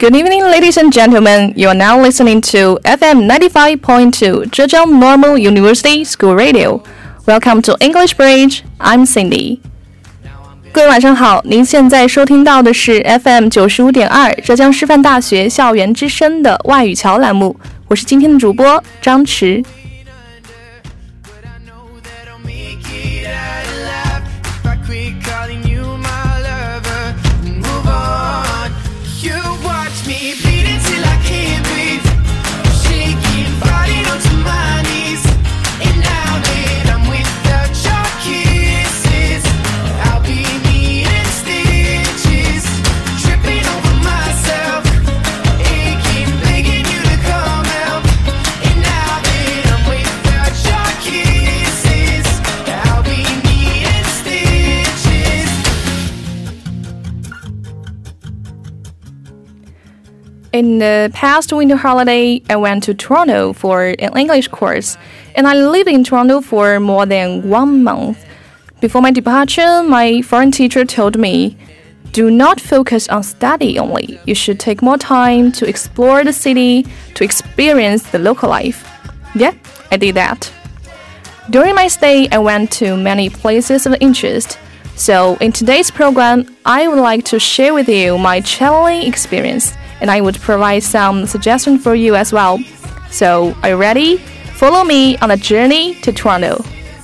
Good evening, ladies and gentlemen. You are now listening to FM 95.2 Zhejiang Normal University School Radio. Welcome to English Bridge. I'm Cindy. 各位晚上好，您现在收听到的是 FM 95.2浙江师范大学校园之声的外语桥栏目，我是今天的主播张弛。In the past winter holiday, I went to Toronto for an English course, and I lived in Toronto for more than 1 month. Before my departure, my foreign teacher told me, "Do not focus on study only. You should take more time to explore the city, to experience the local life." Yeah, I did that. During my stay, I went to many places of interest. So in today's program, I would like to share with you my traveling experience.And I would provide some suggestions for you as well. So, are you ready? Follow me on a journey to Toronto.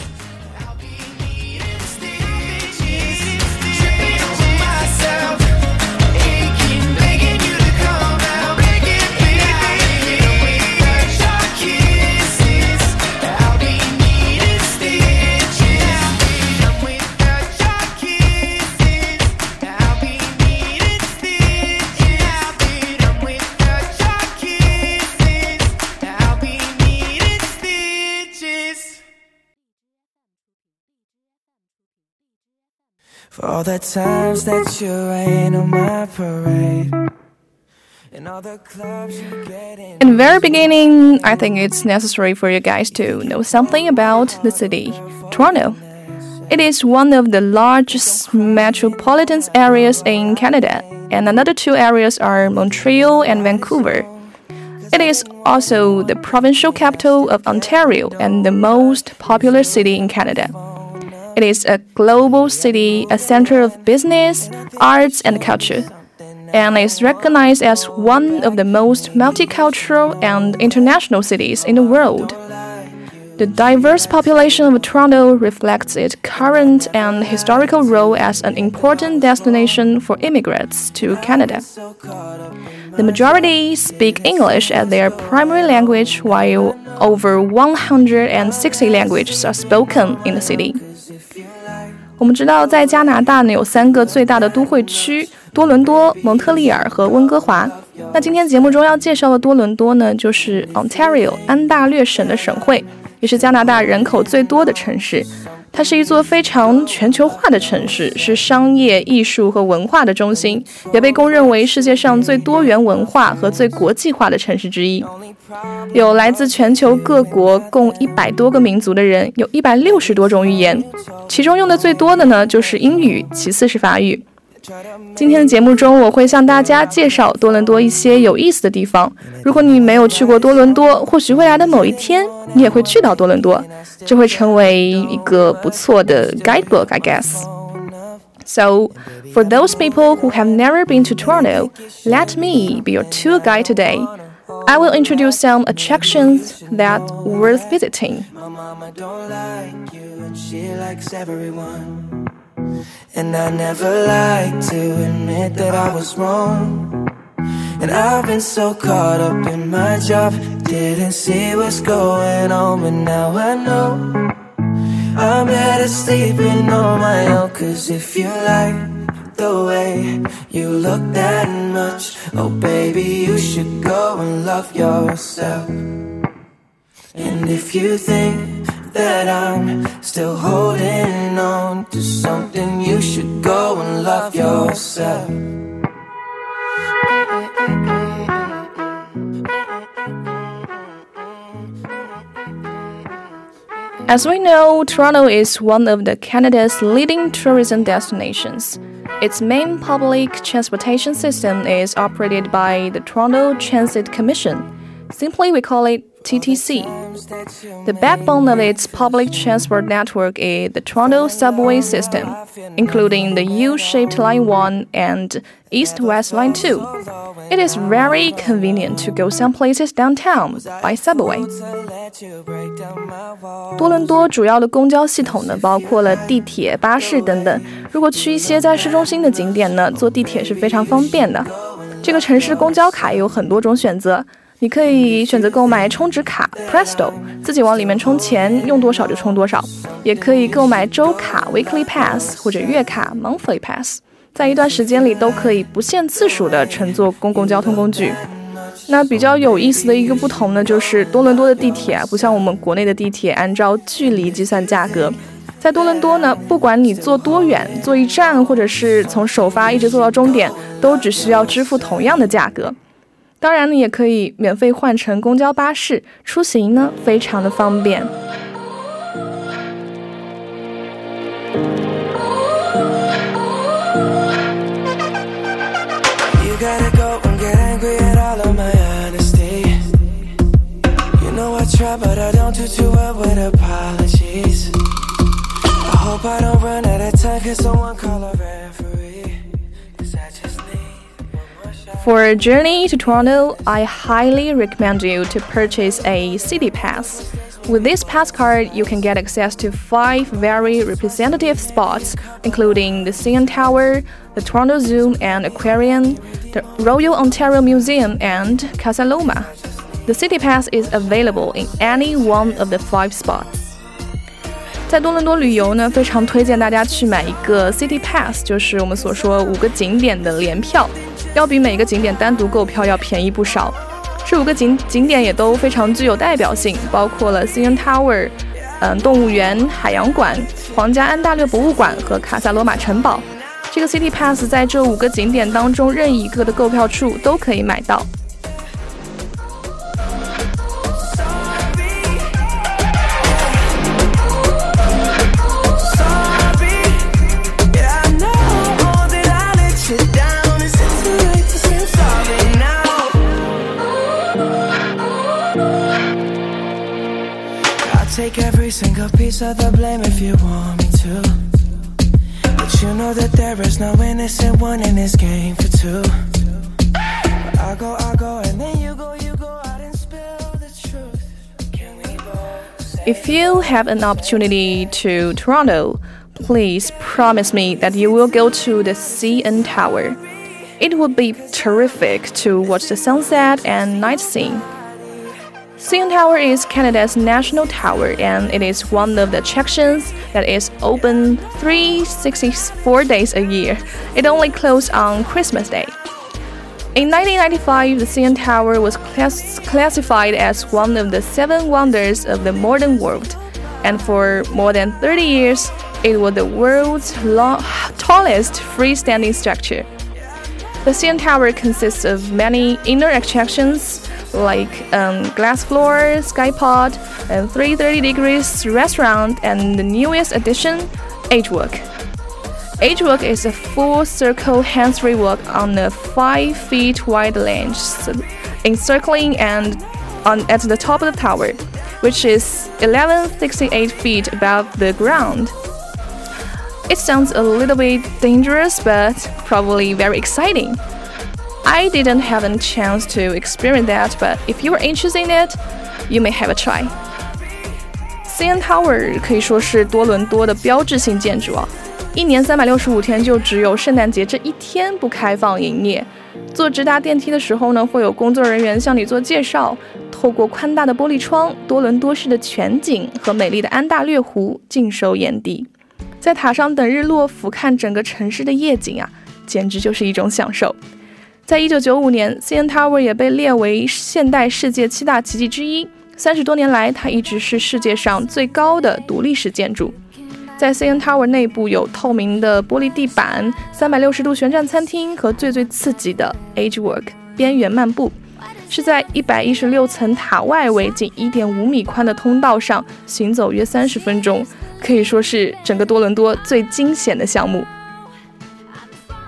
For all the times that you rain on my parade and all the clubs you get in. In the very beginning, I think it's necessary for you guys to know something about the city, Toronto. It is one of the largest metropolitan areas in Canada, and another two areas are Montreal and Vancouver. It is also the provincial capital of Ontario and the most popular city in Canada.It is a global city, a center of business, arts, and culture, and is recognized as one of the most multicultural and international cities in the world. The diverse population of Toronto reflects its current and historical role as an important destination for immigrants to Canada. The majority speak English as their primary language, while over 160 languages are spoken in the city.我们知道，在加拿大呢有3个最大的都会区：多伦多、蒙特利尔和温哥华。那今天节目中要介绍的多伦多呢，就是 Ontario 安大略省的省会，也是加拿大人口最多的城市。它是一座非常全球化的城市，是商业、艺术和文化的中心，也被公认为世界上最多元文化和最国际化的城市之一。有来自全球各国共100多个民族的人，有160多种语言，其中用的最多的呢就是英语，其次是法语。今天的节目中，我会向大家介绍多伦多一些有意思的地方。如果你没有去过多伦多，或许未来的某一天，你也会去到多伦多，这会成为一个不错的 guidebook, I guess. So, for those people who have never been to Toronto, let me be your tour guide today. I will introduce some attractions that worth visiting. And I never like to admit that I was wrong. And I've been so caught up in my job, didn't see what's going on, but now I know I'm better sleeping on my own. Cause if you like the way you look that much, oh baby, you should go and love yourself. And if you think that I'm still holding on to something, you should go and love yourself. As we know, Toronto is one of Canada's leading tourism destinations. Its main public transportation system is operated by the Toronto Transit Commission. Simply, we call it TTC. The backbone of its public transport network is the Toronto subway system, including the U-shaped Line 1 and East-West Line 2. It is very convenient to go some places downtown by subway. 多伦多主要的公交系统呢，包括了地铁、巴士等等。如果去一些在市中心的景点呢，坐地铁是非常方便的。这个城市公交卡也有很多种选择。你可以选择购买充值卡 Presto， 自己往里面充钱，用多少就充多少。也可以购买周卡 Weekly Pass 或者月卡 Monthly Pass， 在一段时间里都可以不限次数的乘坐公共交通工具。那比较有意思的一个不同呢，就是多伦多的地铁不像我们国内的地铁按照距离计算价格。在多伦多呢，不管你坐多远，坐一站或者是从首发一直坐到终点，都只需要支付同样的价格。当然呢，也可以免费换乘公交巴士，出行呢非常的方便。For a journey to Toronto, I highly recommend you to purchase a City Pass. With this pass card, you can get access to 5 very representative spots, including the CN Tower, the Toronto Zoo and Aquarium, the Royal Ontario Museum, and Casa Loma. The City Pass is available in any one of the 5 spots. 在多伦多旅游呢，非常推荐大家去买一个 City Pass， 就是我们所说5个景点的联票，要比每个景点单独购票要便宜不少。这5个景点也都非常具有代表性，包括了 CN Tower、动物园、海洋馆、皇家安大略博物馆和卡萨罗马城堡。这个 City Pass 在这5个景点当中任意一个的购票处都可以买到。 Take every single piece of the blame if you want me to, but you know that there is no innocent one in this game for two. I go, and then you go out and spill the truth. Can we both? If you have an opportunity to Toronto, please promise me that you will go to the CN Tower. It would be terrific to watch the sunset and night scene. CN Tower is Canada's national tower, and it is one of the attractions that is open 364 days a year. It only closes on Christmas Day. In 1995, the CN Tower was classified as one of the 7 wonders of the modern world, and for more than 30 years, it was the world's tallest freestanding structure. The CN Tower consists of many inner attractions like glass floor, sky pod, and 330 degrees restaurant, and the newest addition, Age Walk. Age Walk is a full circle hands-free walk on a 5 feet wide lane, encircling and at the top of the tower, which is 1168 feet above the ground. It sounds a little bit dangerous, but probably very exciting. I didn't have a chance to experience that, but if you are interested in it, you may have a try. CN Tower 可以说是多伦多的标志性建筑啊，一年365天就只有圣诞节这一天不开放营业。坐直达电梯的时候呢，会有工作人员向你做介绍。透过宽大的玻璃窗，多伦多市的全景和美丽的安大略湖尽收眼底。在塔上等日落，俯瞰整个城市的夜景啊，简直就是一种享受。在1995年 ，CN Tower 也被列为现代世界7大奇迹之一。30多年来，它一直是世界上最高的独立式建筑。在 CN Tower 内部有透明的玻璃地板、360度旋转餐厅和最刺激的 Age Walk 边缘漫步，是在116层塔外围近1.5米宽的通道上行走约30分钟，可以说是整个多伦多最惊险的项目。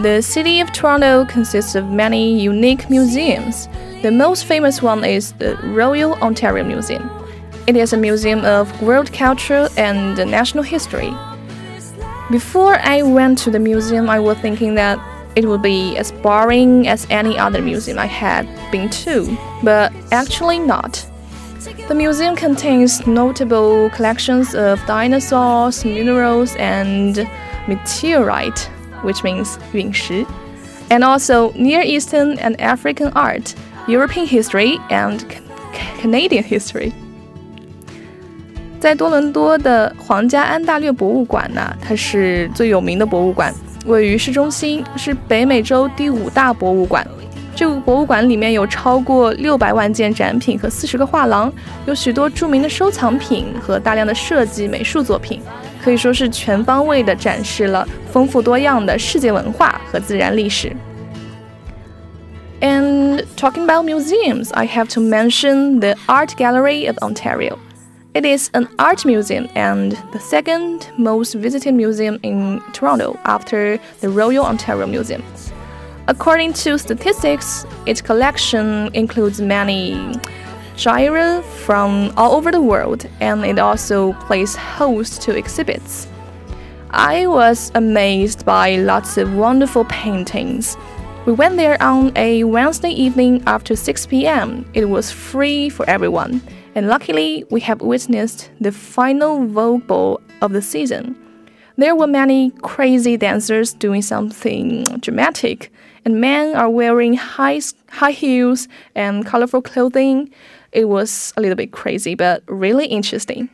The city of Toronto consists of many unique museums. The most famous one is the Royal Ontario Museum. It is a museum of world culture and national history. Before I went to the museum, I was thinking that it would be as boring as any other museum I had been to, but actually not. The museum contains notable collections of dinosaurs, minerals, and meteorite, which means 陨石, and also Near Eastern and African art, European history, and Canadian history. 在多伦多的皇家安大略博物馆呢，它是最有名的博物馆，位于市中心，是北美洲第5大博物馆。这个博物馆里面有超过600万件展品和40个画廊，有许多著名的收藏品和大量的设计美术作品，可以说是全方位地展示了丰富多样的世界文化和自然历史。And talking about museums, I have to mention the Art Gallery of Ontario. It is an art museum and the second most visited museum in Toronto after the Royal Ontario Museum. According to statistics, its collection includes many genres from all over the world, and it also plays host to exhibits. I was amazed by lots of wonderful paintings. We went there on a Wednesday evening after 6 p.m. It was free for everyone, and luckily we have witnessed the final Vogue Ball of the season. There were many crazy dancers doing something dramatic, and men are wearing high heels and colorful clothing. It was a little bit crazy, but really interesting.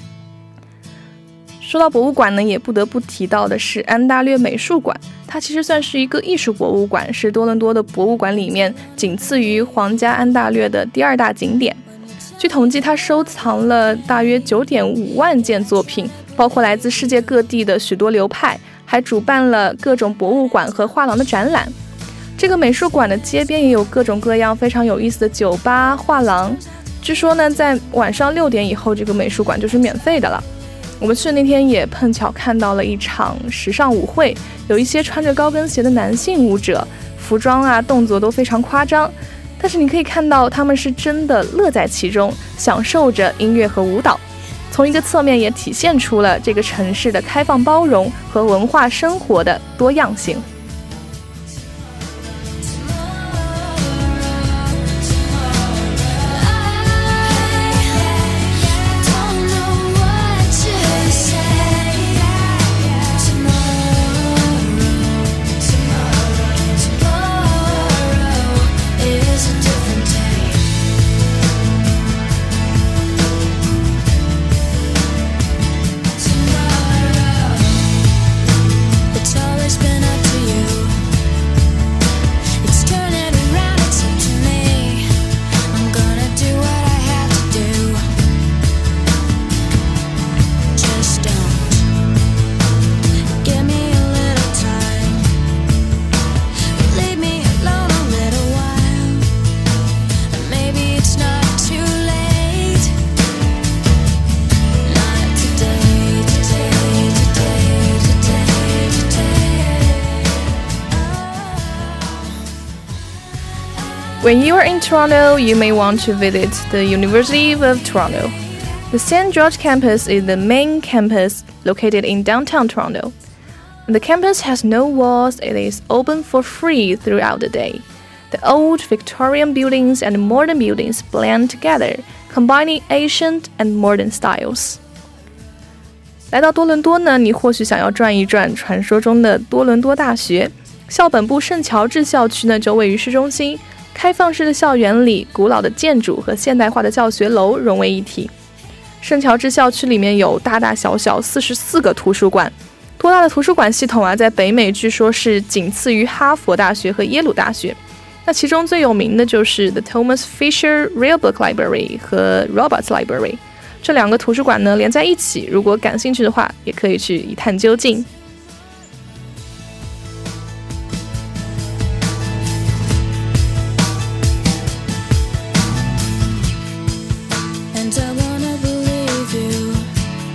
说到博物馆呢，也不得不提到的是安大略美术馆，它其实算是一个艺术博物馆，是多伦多的博物馆里面仅次于皇家安大略的第2大景点。据统计，它收藏了大约9.5万件作品，包括来自世界各地的许多流派，还主办了各种博物馆和画廊的展览。这个美术馆的街边也有各种各样非常有意思的酒吧、画廊。据说呢，在晚上6点以后，这个美术馆就是免费的了。我们去的那天也碰巧看到了一场时尚舞会，有一些穿着高跟鞋的男性舞者，服装啊动作都非常夸张，但是你可以看到他们是真的乐在其中，享受着音乐和舞蹈。从一个侧面也体现出了这个城市的开放包容和文化生活的多样性。When you are in Toronto, you may want to visit the University of Toronto. The St. George campus is the main campus located in downtown Toronto. The campus has no walls. It is open for free throughout the day. The old Victorian buildings and modern buildings blend together, combining ancient and modern styles. 来到多伦多呢，你或许想要转一转传说中的多伦多大学。校本部圣乔治校区呢，就位于市中心。开放式的校园里，古老的建筑和现代化的教学楼融为一体。圣乔治校区里面有大大小小44个图书馆，多大的图书馆系统啊，在北美据说是仅次于哈佛大学和耶鲁大学。那其中最有名的就是 The Thomas Fisher Rare Book Library 和 Roberts Library， 这2个图书馆呢连在一起，如果感兴趣的话，也可以去一探究竟。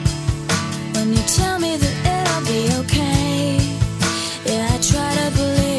Tell me that it'll be okay. Yeah, I try to believe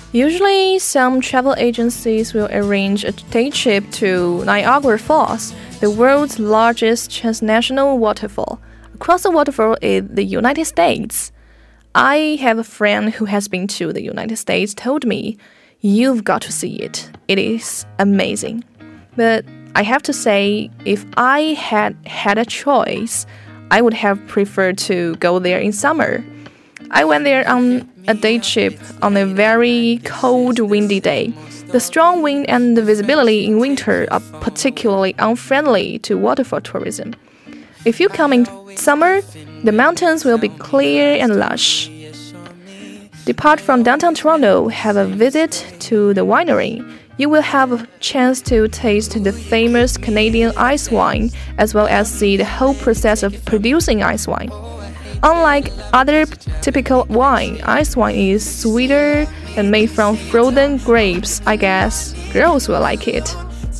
Usually, some travel agencies will arrange a day trip to Niagara Falls, the world's largest transnational waterfall. Across the waterfall is the United States. I have a friend who has been to the United States told me, "You've got to see it. It is amazing." But I have to say, if I had a choice, I would have preferred to go there in summer. I went there on a day trip on a very cold, windy day. The strong wind and the visibility in winter are particularly unfriendly to waterfall tourism. If you come in summer, the mountains will be clear and lush. Depart from downtown Toronto, have a visit to the winery. You will have a chance to taste the famous Canadian ice wine, as well as see the whole process of producing ice wine. Unlike other typical wine, ice wine is sweeter and made from frozen grapes. I guess girls will like it.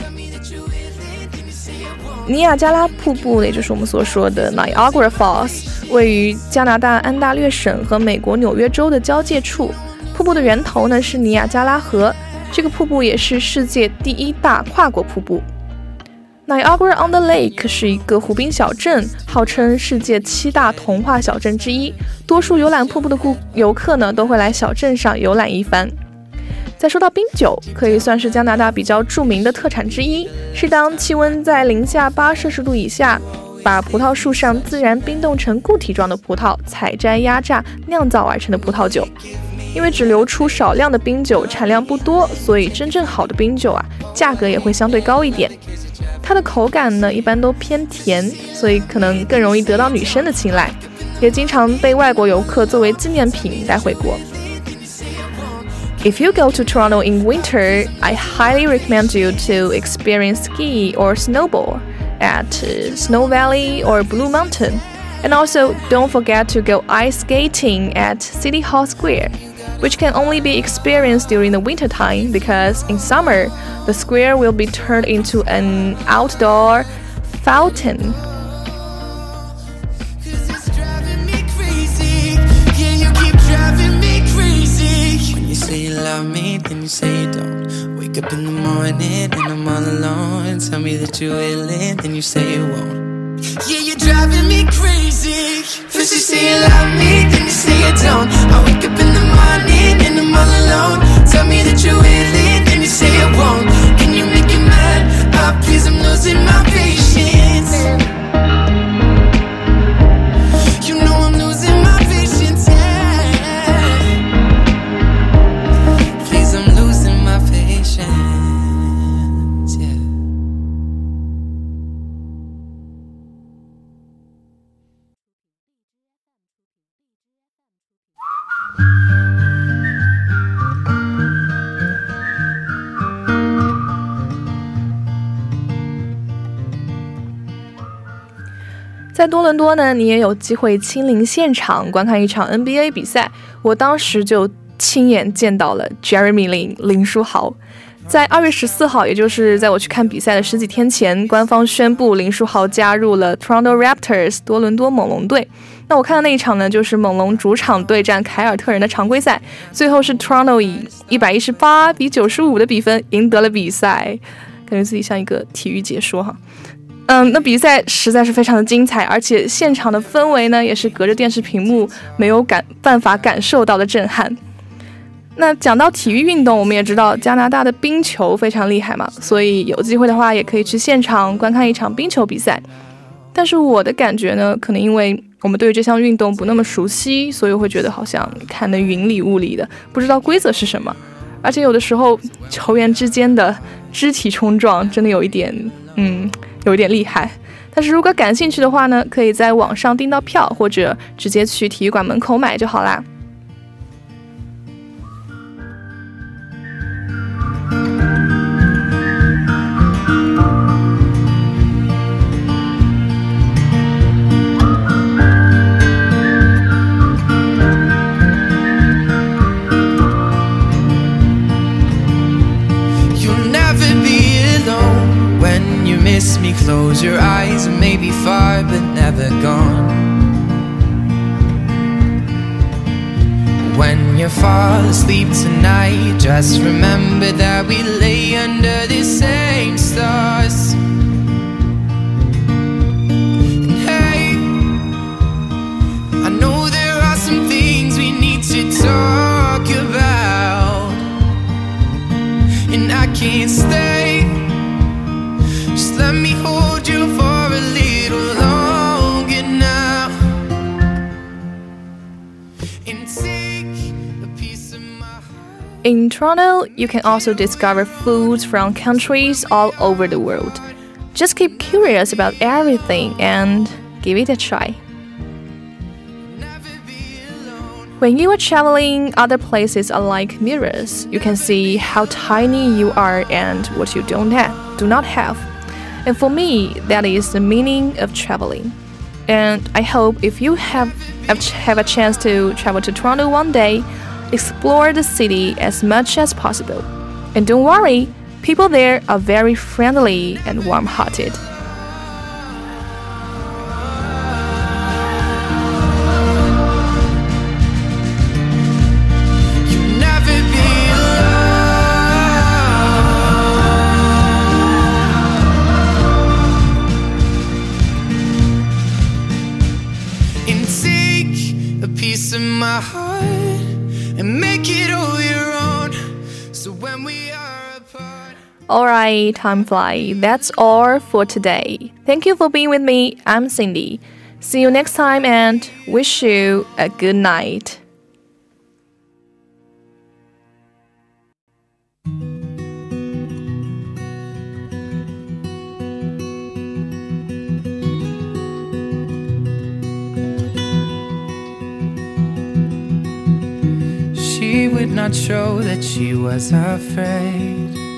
尼亚加拉瀑布，也就是我们所说的 Niagara Falls， 位于加拿大安大略省和美国纽约州的交界处。瀑布的源头呢是尼亚加拉河，这个瀑布也是世界第一大跨国瀑布。Niagara-on-the-Lake 是一个湖滨小镇，号称世界7大童话小镇之一。多数游览瀑布的游客呢，都会来小镇上游览一番。再说到冰酒，可以算是加拿大比较著名的特产之一，是当气温在-8°C以下，把葡萄树上自然冰冻成固体状的葡萄采摘压榨酿造而成的葡萄酒。因为只流出少量的冰酒，产量不多，所以真正好的冰酒价格也会相对高一点。它的口感呢，一般都偏甜，所以可能更容易得到女生的青睐，也经常被外国游客作为纪念品带回国。If you go to Toronto in winter, I highly recommend you to experience ski or snowboard at Snow Valley or Blue Mountain. And also, don't forget to go ice skating at City Hall Square, which can only be experienced during the winter time because in summer, the square will be turned into an outdoor fountain. Say you love me, then you say you don't. Wake up in the morning and I'm all alone. Tell me that you're willing, then you say you won't. Yeah, you're driving me crazy. First you say you love me, then you say you don't. I wake up in the morning and I'm all alone. Tell me that you're willing, then you say you won't. Can you make it mad? Oh, please, I'm losing my patience. You know I'm losing my patience, yeah. Please, I'm losing my patience, yeah. 在在多伦多呢，你也有机会亲临现场观看一场 NBA 比赛。我当时就亲眼见到了 Jeremy Lin 林书豪。在2月14号，也就是在我去看比赛的10几天前，官方宣布林书豪加入了 Toronto Raptors 多伦多猛龙队。那我看的那一场呢，就是猛龙主场对战凯尔特人的常规赛，最后是 Toronto 以118-95的比分赢得了比赛，感觉自己像一个体育解说哈。那比赛实在是非常的精彩，而且现场的氛围呢，也是隔着电视屏幕没有办法感受到的震撼。那讲到体育运动，我们也知道加拿大的冰球非常厉害嘛，所以有机会的话也可以去现场观看一场冰球比赛。但是我的感觉呢，可能因为我们对于这项运动不那么熟悉，所以我会觉得好像看得云里雾里的，不知道规则是什么。而且有的时候球员之间的肢体冲撞真的有一点厉害。但是如果感兴趣的话呢，可以在网上订到票，或者直接去体育馆门口买就好啦。 Miss me, close your eyes and maybe far but never gone. fall asleep tonight, just remember that we lay under the same stars. And hey, I know there are some things we need to talk about, and I can't stay. Just let me hold you for a little longer now, and take a piece of my heart. In Toronto, you can also discover foods from countries all over the world. Just keep curious about everything and give it a try. When you are traveling, other places are like mirrors. You can see how tiny you are and what you do not have. And for me, that is the meaning of traveling. And I hope if you have a chance to travel to Toronto one day, explore the city as much as possible. And don't worry, people there are very friendly and warm-hearted. Piece of my heart and make it all your own. So when we are apart. Alright, time flies. That's all for today. Thank you for being with me. I'm Cindy. See you next time and wish you a good night. She would not show that she was afraid.